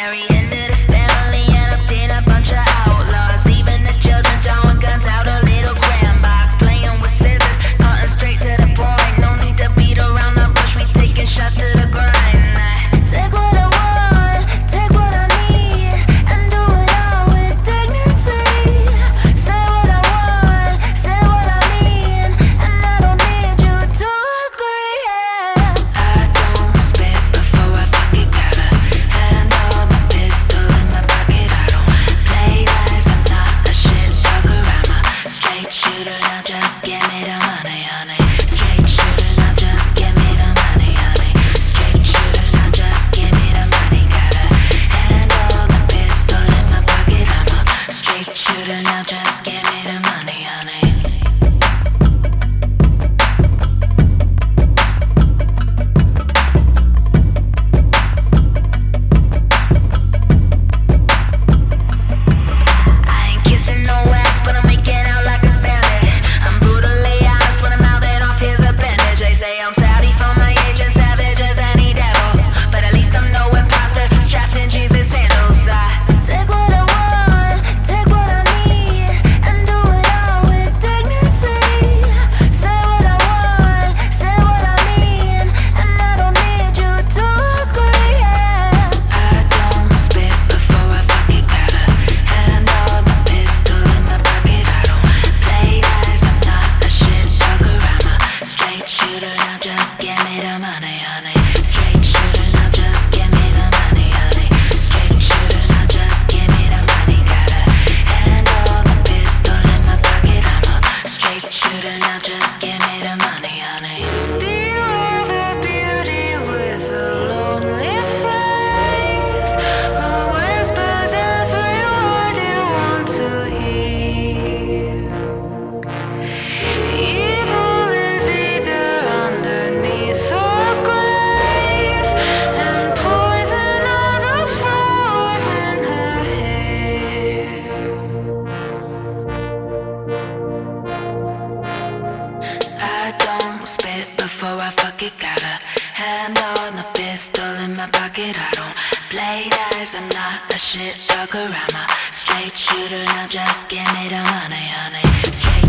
Marry into this family and obtain a bunch of outlaws. Even the children drawing guns out a little cram box. Playing with scissors, cutting straight to the point. No need to beat around the bush, we taking shots to the grind. Take what I want, take what I need, and do it all with dignity. Say what I want, say what I mean, and I don't need you to agree, yeah. I don't spit before I fuck it, got a hand on the pistol in my pocket. I don't play nice, I'm not a shit talker, I'm a straight shooter. Now just give me the money, honey. Straight shooter, now just give me the money, honey. Straight shooter, now just give me the money. Got a hand on the pistol in my pocket. I'm a straight shooter, now just give me the money, honey. I ain't kissing no ass, but I'm making out like a bandit. I'm brutally honest when I'm mouthing off his appendage. They say I'm savvy for my age and savage as any devil, but at least I'm no imposter, strapped in Jesus' sandals. I take what I want, take what I need, and do it all with dignity. Say what I want, say what I mean, and I don't need you to agree, yeah. I don't spit before I fuck it, got a hand on the pistol in my pocket. I don't play nice, I'm not a shit talker, I'm a straight shooter. Now just give me the money, honey. Straight shooter, now just give me the money, honey. Straight shooter, now just give me the money. Got a hand on the pistol in my pocket. I'm a straight shooter, now just give me the money, honey. Beware the beauty with a lonely face, who whispers every word you want to hear. Evil is either underneath or grace, and poison are the flowers in her hair. I don't spit before I fuck it, got a hand on the pistol in my pocket. I don't play nice, I'm not a shit talker, I'm a straight shooter. Now just give me the money, honey. Straight